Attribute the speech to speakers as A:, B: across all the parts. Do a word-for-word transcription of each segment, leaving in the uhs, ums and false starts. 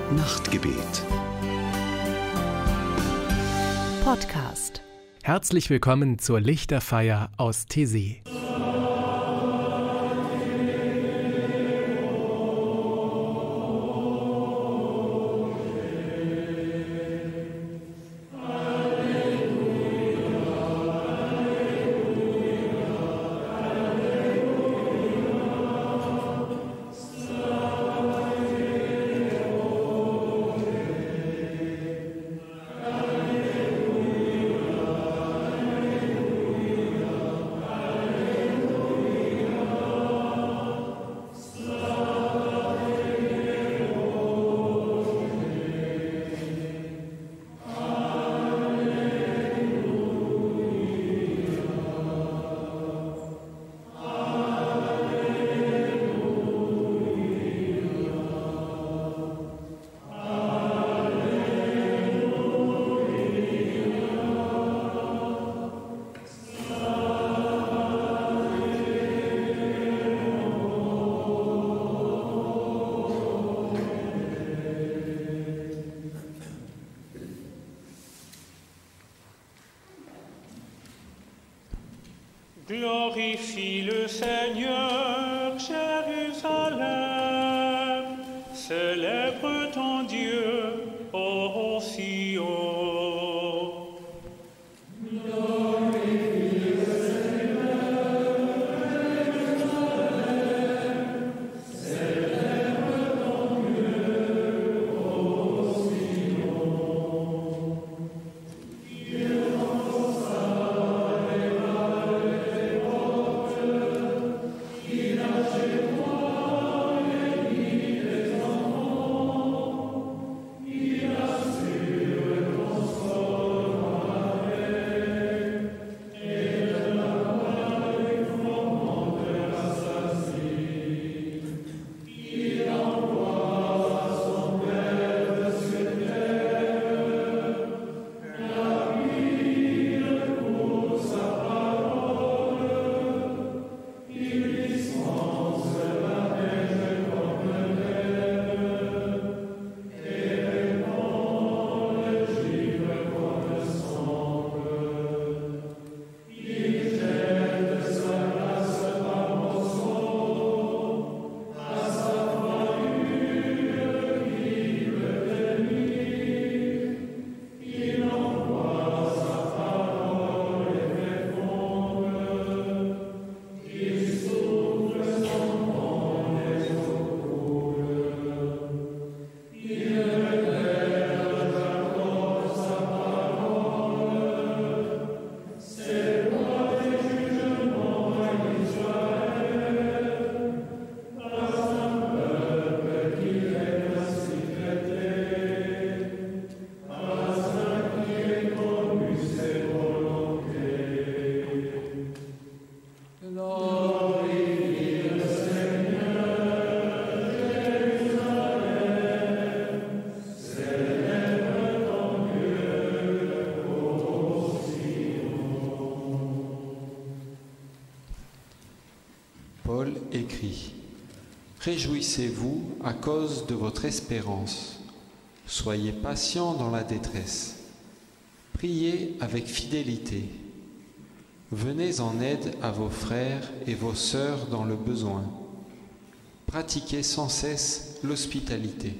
A: Nachtgebet.
B: Podcast.
C: Herzlich willkommen zur Lichterfeier aus Thésée.
D: Glorifie le Seigneur, Jérusalem, célèbre ton Dieu, ô Sion.
E: Paul écrit : Réjouissez-vous à cause de votre espérance. Soyez patients dans la détresse. Priez avec fidélité. Venez en aide à vos frères et vos sœurs dans le besoin. Pratiquez sans cesse l'hospitalité.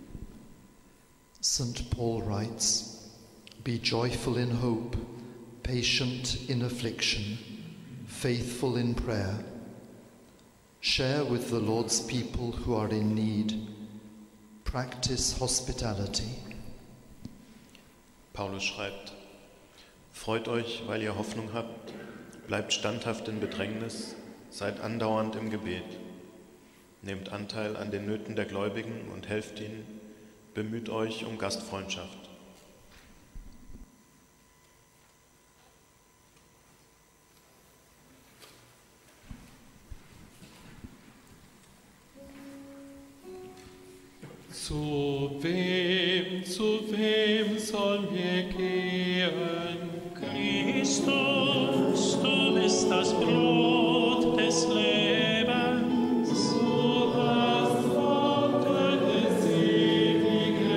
F: Saint Paul writes, Be joyful in hope, patient in affliction, faithful in prayer. Share with the Lord's people who are in need. Practice hospitality.
G: Paulus schreibt: Freut euch, weil ihr Hoffnung habt, bleibt standhaft in Bedrängnis, seid andauernd im Gebet. Nehmt Anteil an den Nöten der Gläubigen und helft ihnen, bemüht euch um Gastfreundschaft.
H: Zu wem, zu wem sollen wir gehen?
D: Christus, du bist das Brot des Lebens.
H: Du hast Worte des ewigen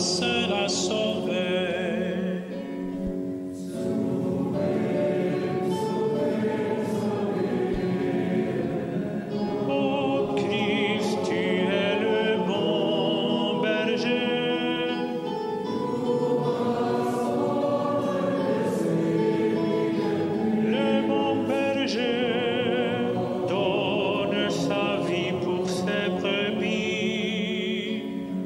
D: sera sauvé. Ô Christ, tu es le bon berger. Le bon berger donne sa vie pour ses brebis.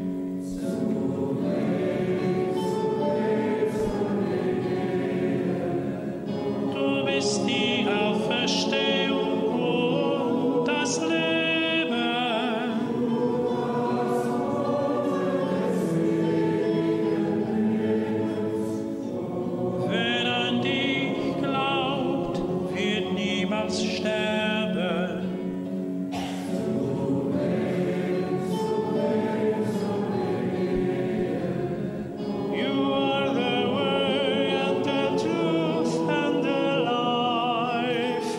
D: Du bist die Auferstehung und das Leben. Wer an dich glaubt, wird niemals sterben. You are the way and the truth and the life.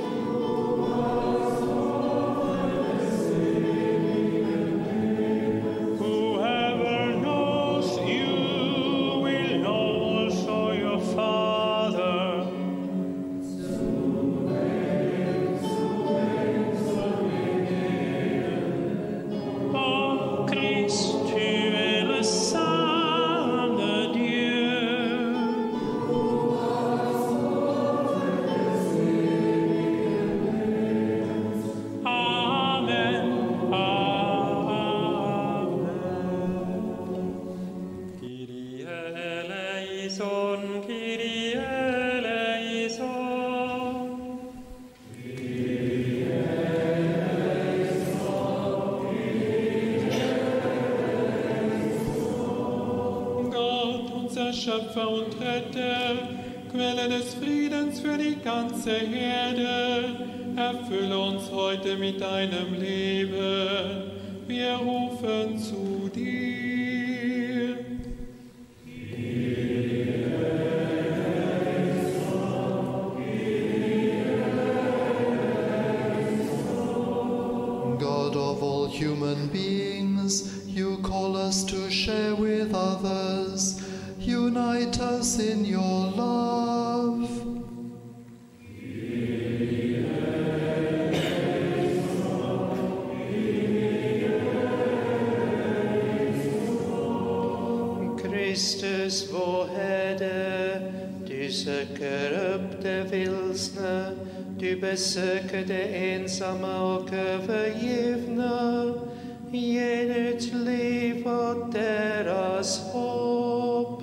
D: Whoever knows you will know also your Father. Oh Christ, tu es le Saint de Dieu. Amen. Amen. Kyrie eleison, Kyrie eleison.
H: Gott, unser Schöpfer und Retter, Quelle des Friedens für die ganze Erde, erfülle uns heute mit deinem Leben. Wir rufen zu dir.
F: God of all human beings, you call us to share with others. Unite us in your love.
A: Kristus, vår Herre, du söker upp de vilsna, du besöker de ensamma och övergivna, ge ditt liv åt deras hopp.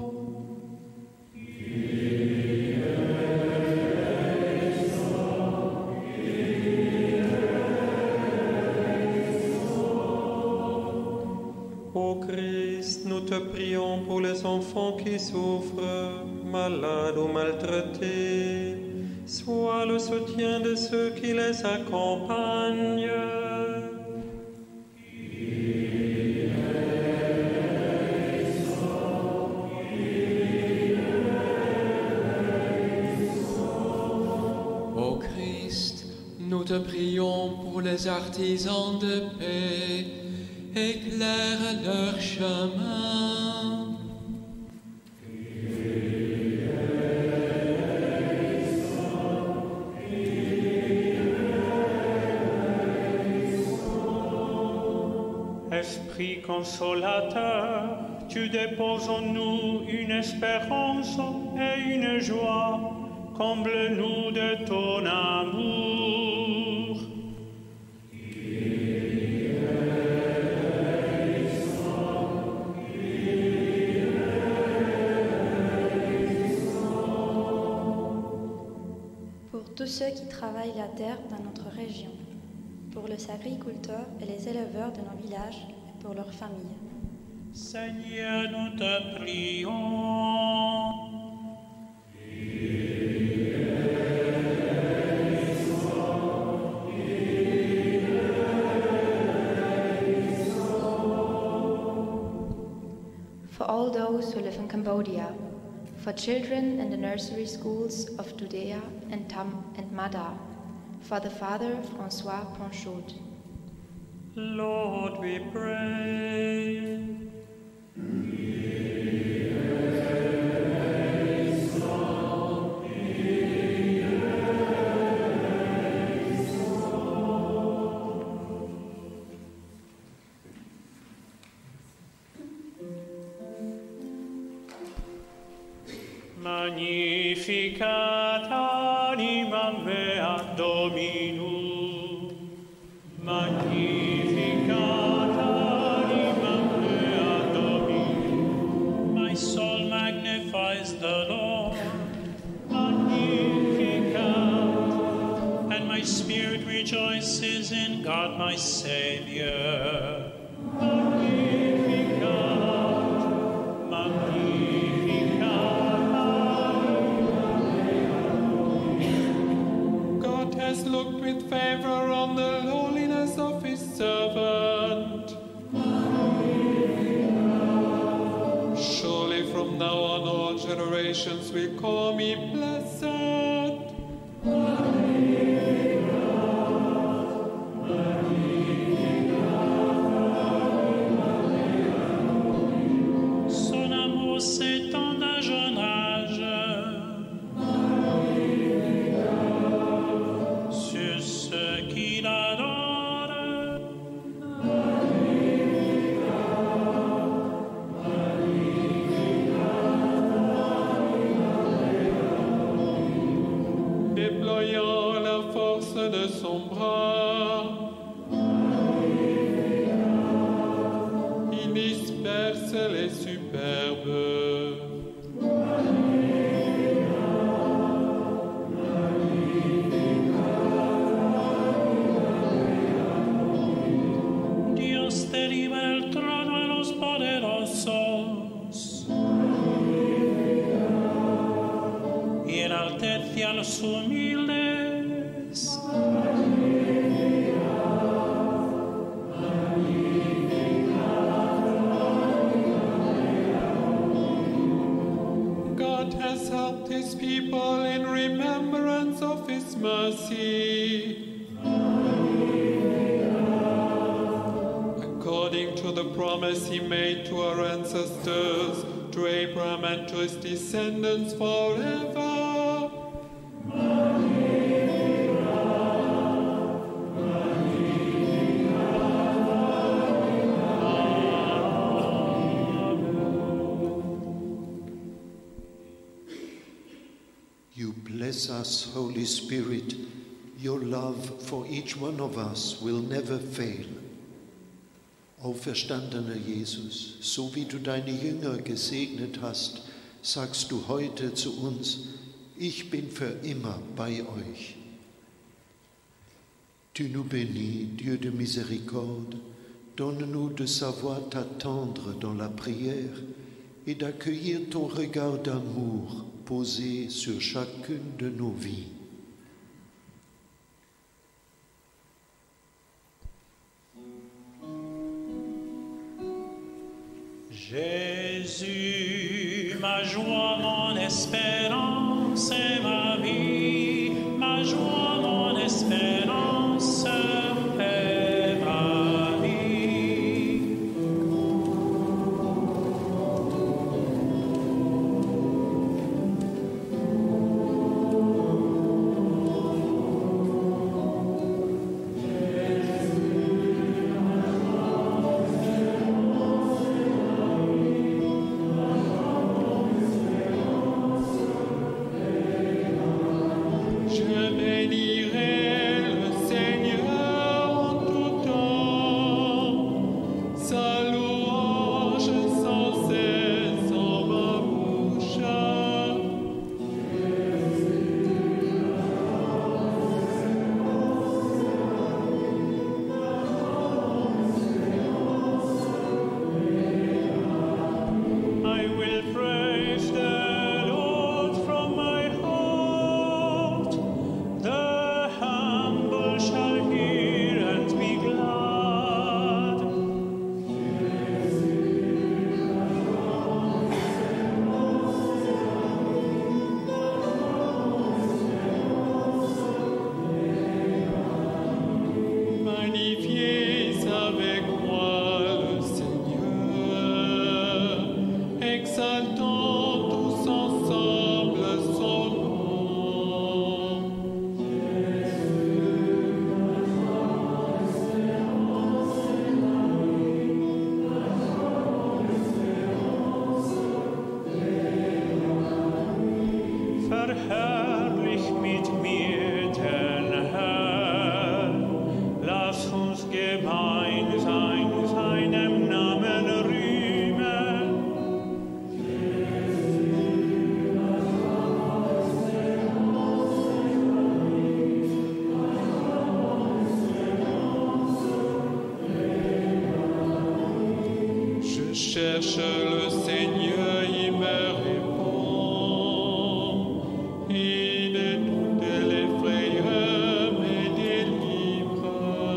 B: Ô Christ, nous te prions pour les enfants qui souffrent, malades ou maltraités. Sois le soutien de ceux qui les accompagnent.
I: Ô Christ, nous te prions pour les artisans de paix, éclaire leur chemin.
D: Esprit consolateur, tu déposes en nous une espérance et une joie. Comble-nous de ton amour.
J: Pour tous ceux qui travaillent la terre dans notre région, pour les agriculteurs et les éleveurs de nos villages et pour leurs familles.
D: Seigneur, nous te prions.
J: For all those who live in Cambodia, for children in the nursery schools of Dudea and Tam and Mada, for the father François Ponchaud.
D: Lord, we pray. Magnificat anima mea Dominum. Magnificat anima mea Dominum. My soul magnifies the Lord. Magnificat. And my spirit rejoices in God my Savior.
H: Has looked with favor on the lowliness of his servant. Surely from now on all generations will call me blessed.
D: Son amour s'étend d'un jeune âge.
H: Déployant la force de son bras, il disperse les superbes.
D: Dios derriba el trono a los poderosos y enaltece a los humildes.
H: God has helped his people in remembrance of his mercy. According to the promise he made to our ancestors, to Abraham and to his descendants forever.
A: You bless us, Holy Spirit. Your love for each one of us will never fail. Auferstandener Jesus, so wie du deine Jünger gesegnet hast, sagst du heute zu uns, ich bin für immer bei euch. Tu nous bénis, Dieu de miséricorde, donne-nous de savoir t'attendre dans la prière et d'accueillir ton regard d'amour posé sur chacune de nos vies.
D: Jésus, ma joie, mon espérance et ma vie, ma joie, mon espérance et ma vie. verherrlich mit mir den Herrn. Lass uns gemeinsam seinem Namen rühmen.
H: Je cherche le Seigneur, il me répond. Il de toutes les frayeurs me délivre.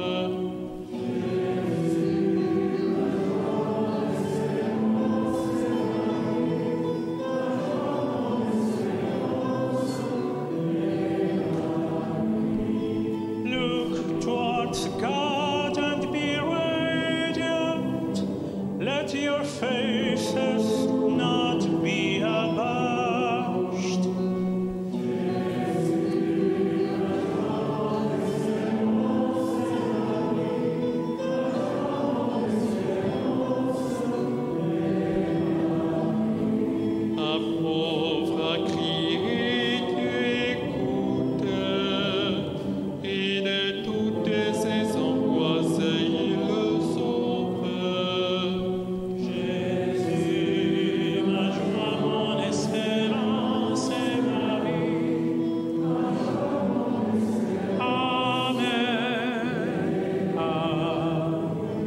D: Look towards God and be radiant. Let your faces not be abashed.
H: Un pauvre a crié, Dieu écoute, et de toutes ses angoisses il le sauve.
D: Jésus, ma joie, mon espérance et ma vie. Amen. Amen.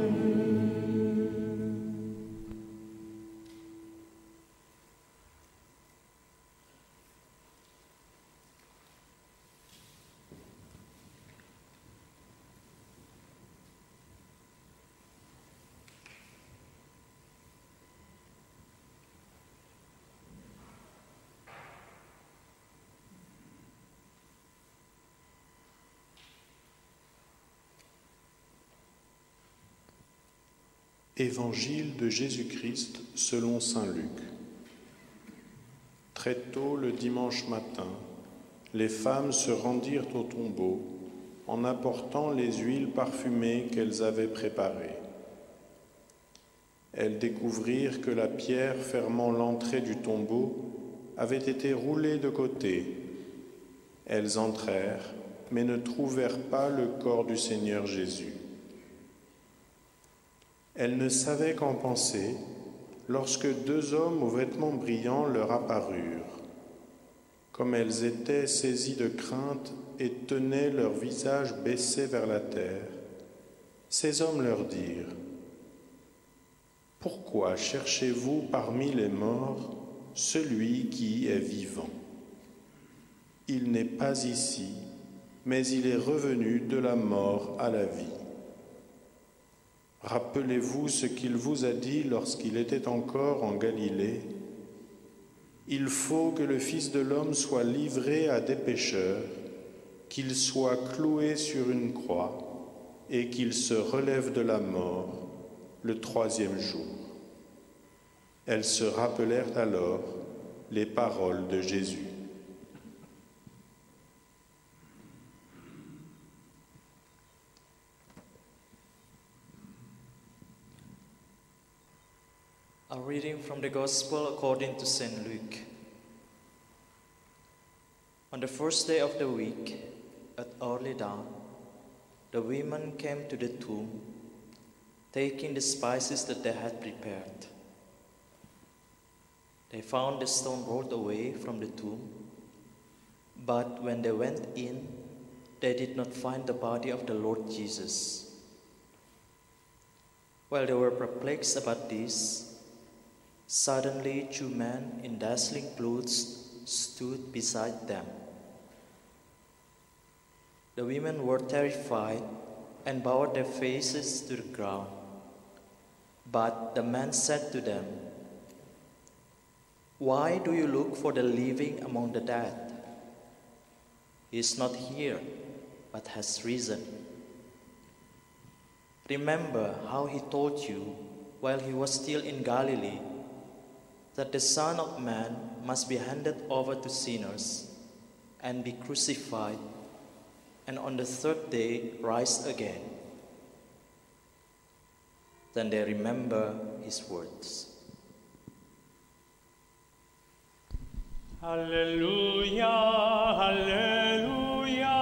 G: Évangile de Jésus-Christ selon saint Luc. Très tôt le dimanche matin, les femmes se rendirent au tombeau en apportant les huiles parfumées qu'elles avaient préparées. Elles découvrirent que la pierre fermant l'entrée du tombeau avait été roulée de côté. Elles entrèrent, mais ne trouvèrent pas le corps du Seigneur Jésus. Elles ne savaient qu'en penser lorsque deux hommes aux vêtements brillants leur apparurent. Comme elles étaient saisies de crainte et tenaient leur visage baissé vers la terre, ces hommes leur dirent : « Pourquoi cherchez-vous parmi les morts celui qui est vivant ? Il n'est pas ici, mais il est revenu de la mort à la vie. Rappelez-vous ce qu'il vous a dit lorsqu'il était encore en Galilée. Il faut que le Fils de l'homme soit livré à des pécheurs, qu'il soit cloué sur une croix et qu'il se relève de la mort le troisième jour. » Elles se rappelèrent alors les paroles de Jésus.
K: A reading from the Gospel according to Saint Luke. On the first day of the week, at early dawn, the women came to the tomb, taking the spices that they had prepared. They found the stone rolled away from the tomb, but when they went in, they did not find the body of the Lord Jesus. While they were perplexed about this, suddenly two men in dazzling clothes stood beside them. The women were terrified and bowed their faces to the ground. But the men said to them, "Why do you look for the living among the dead? He is not here, but has risen. Remember how he told you while he was still in Galilee that the Son of Man must be handed over to sinners and be crucified, and on the third day rise again." Then they remember his words.
D: Halleluja, Halleluja.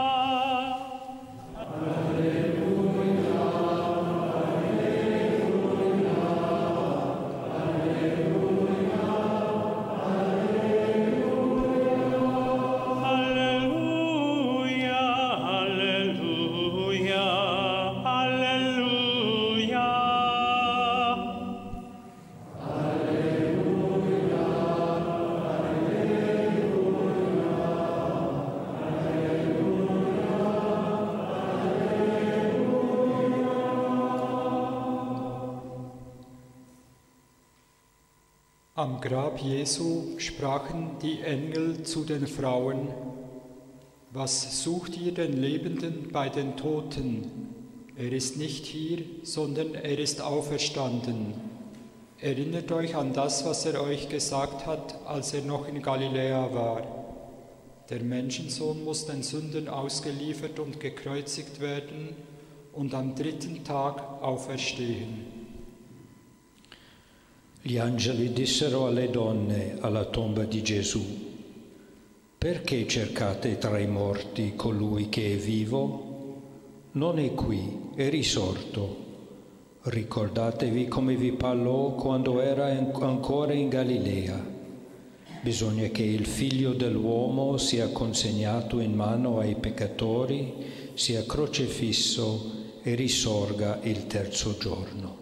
L: Am Grab Jesu sprachen die Engel zu den Frauen: Was sucht ihr den Lebenden bei den Toten? Er ist nicht hier, sondern er ist auferstanden. Erinnert euch an das, was er euch gesagt hat, als er noch in Galiläa war. Der Menschensohn muss den Sündern ausgeliefert und gekreuzigt werden und am dritten Tag auferstehen.
M: Gli angeli dissero alle donne alla tomba di Gesù: Perché cercate tra i morti colui che è vivo? Non è qui, è risorto. Ricordatevi come vi parlò quando era ancora in Galilea. Bisogna che il figlio dell'uomo sia consegnato in mano ai peccatori, sia crocifisso e risorga il terzo giorno.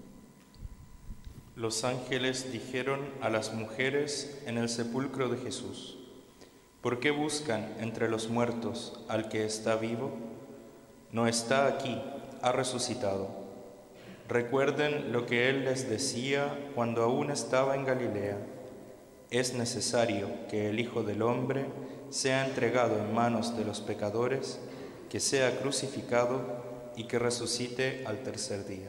N: Los ángeles dijeron a las mujeres en el sepulcro de Jesús: ¿Por qué buscan entre los muertos al que está vivo? No está aquí, ha resucitado. Recuerden lo que él les decía cuando aún estaba en Galilea: es necesario que el Hijo del Hombre sea entregado en manos de los pecadores, que sea crucificado y que resucite al tercer día.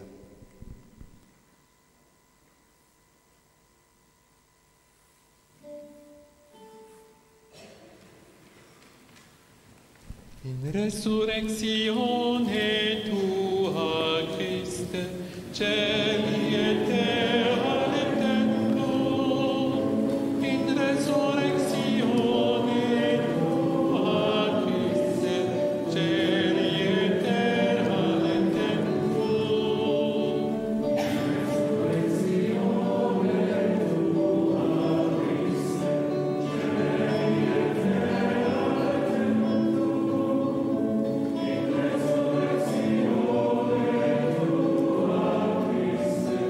H: In resurrectione tua, Christe, cieli e terra redento. In resurrectione tua, Christe, cieli e terra redento. In resurrectione tua, Christe, cieli e terra redento. In resurrectione tua, Christe,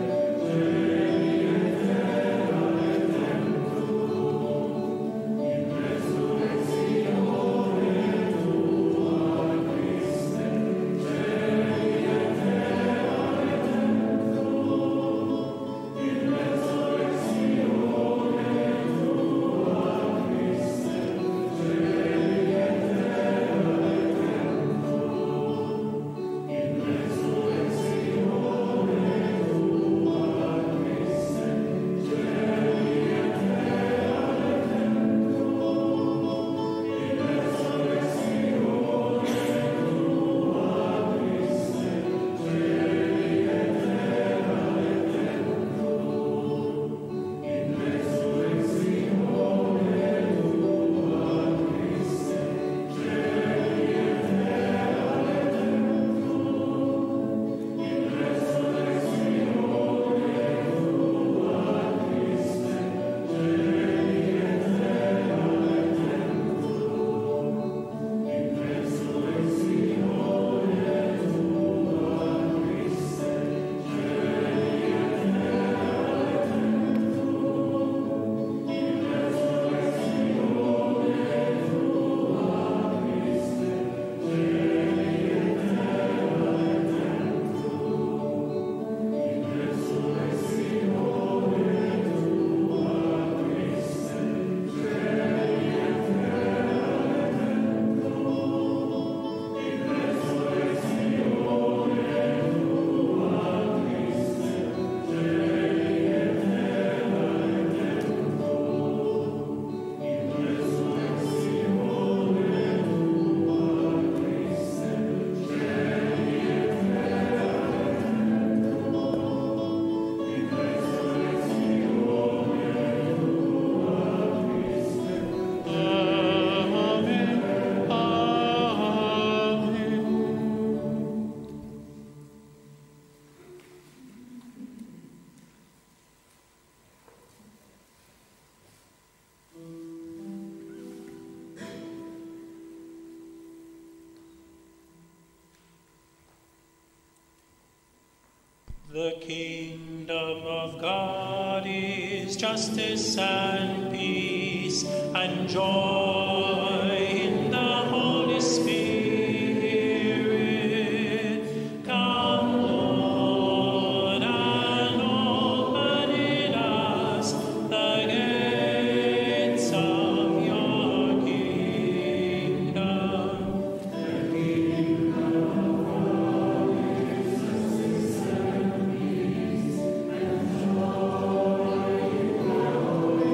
D: The kingdom of God is justice and peace and joy in the Holy Spirit. Come, Lord, and open in us the gates of your kingdom. The kingdom of God is justice and peace and joy in the Holy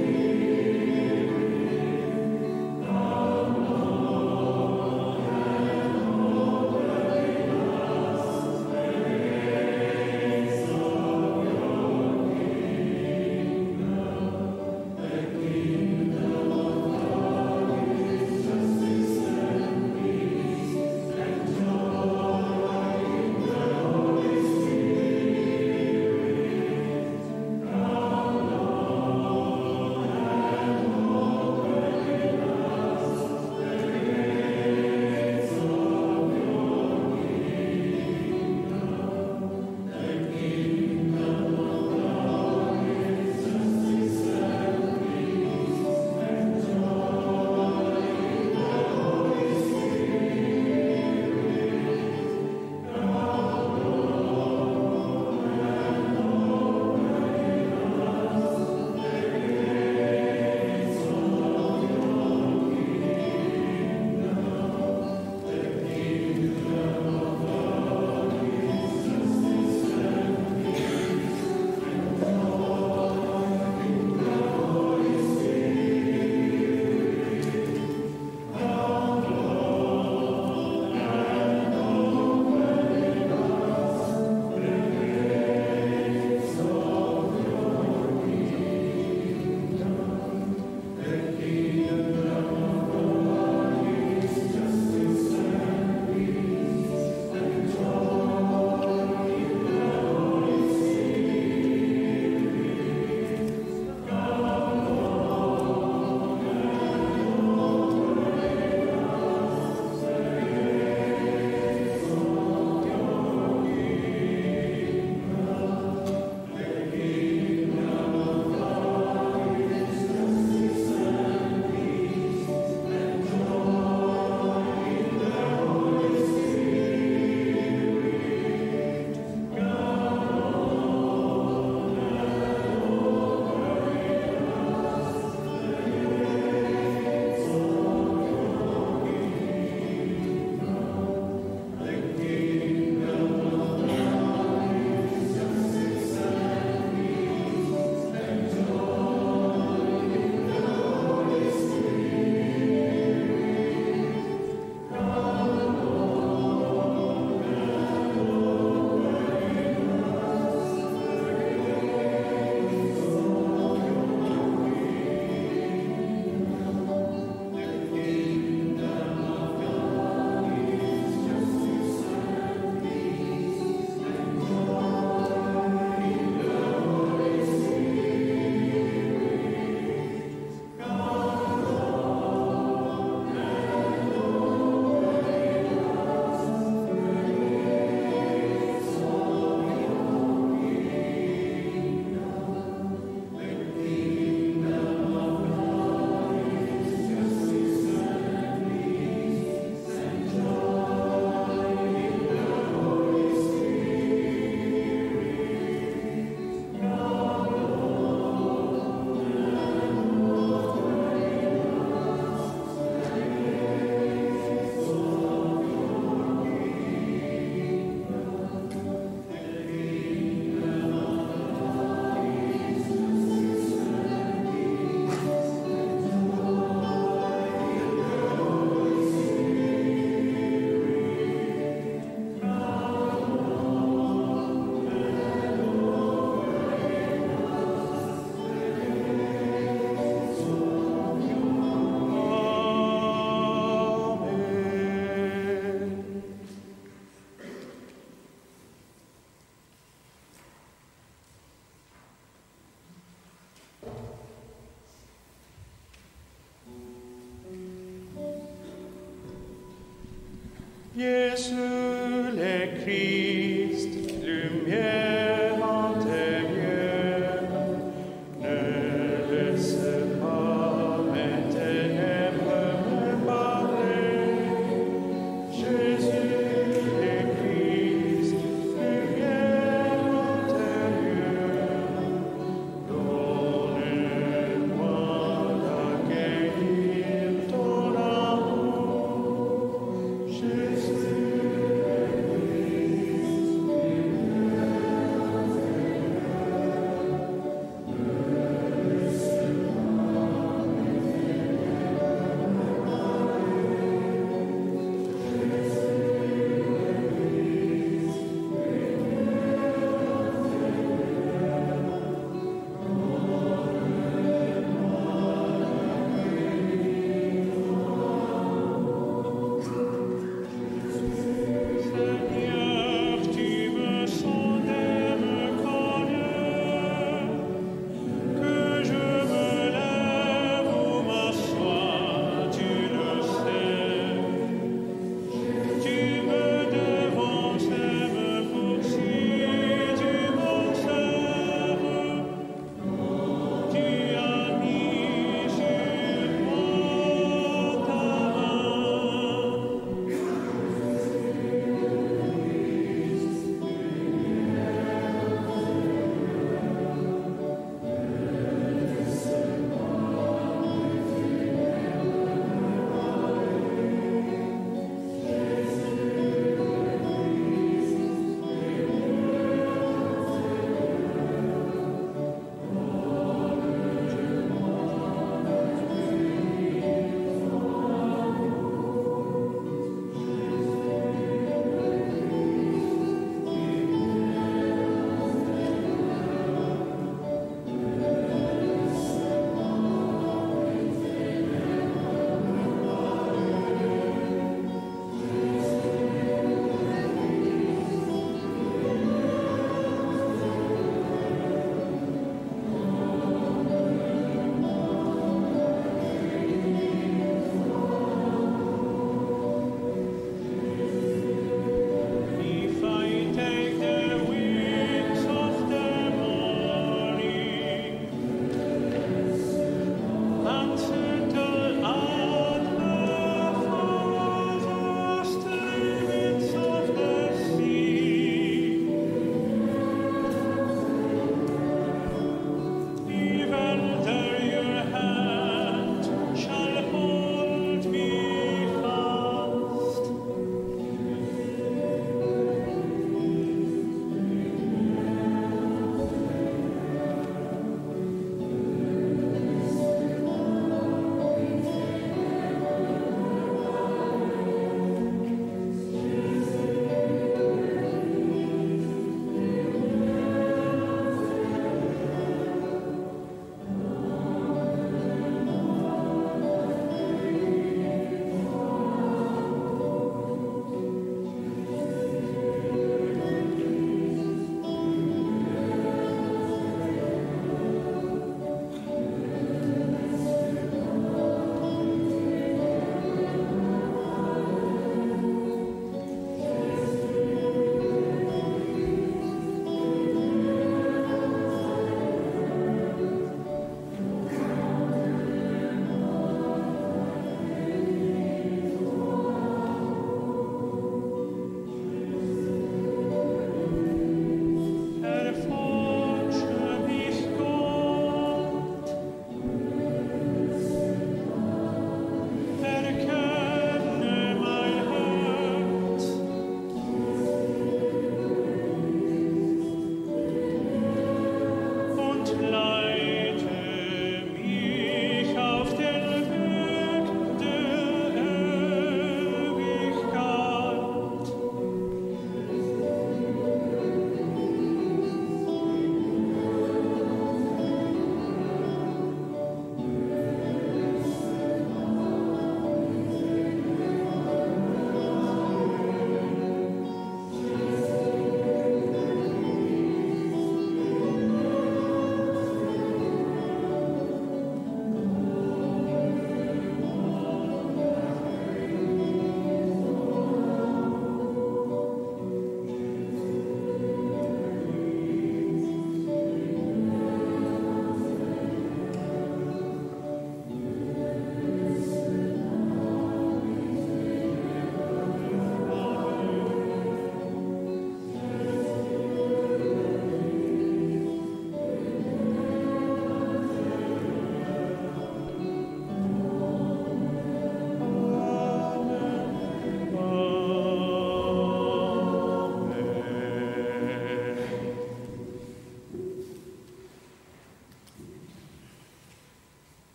D: Spirit. Come, Lord, and open in us the gates of your kingdom. The kingdom of God is justice and peace and joy in the Holy Spirit. Come, Lord, and open in us the gates of your kingdom. The kingdom of God is justice and peace and joy in the Holy Spirit. Come, Lord, and open in us the gates of your kingdom. The kingdom of God is justice and peace and joy in the Holy Spirit. Come, Lord, and open in us the gates of your kingdom. The kingdom of God is justice and peace and joy in the Holy Spirit. Come, Lord, and open in us the gates of your kingdom. The kingdom of God is justice and peace and joy in the Holy Spirit. Come, Lord, and open in us the gates of your kingdom. The kingdom of God is justice and peace and joy in the Holy Spirit. Come, Lord, and open in us the gates of your kingdom. The kingdom of God is justice and peace and joy in the Holy Spirit. Come, Lord, and open in us the gates of your kingdom. The kingdom of God is justice and peace and joy in the Holy Spirit. Come, Lord, and open in us the gates of your kingdom. The kingdom of God is justice and peace and joy in the Holy Spirit. Come, Lord, and open in us the gates of your Amen.
B: Jésus le Christ, lumière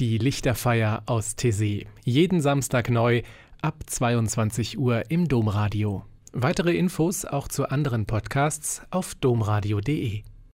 C: Die Lichterfeier aus Taizé. Jeden Samstag neu ab zweiundzwanzig Uhr im Domradio. Weitere Infos auch zu anderen Podcasts auf domradio punkt de.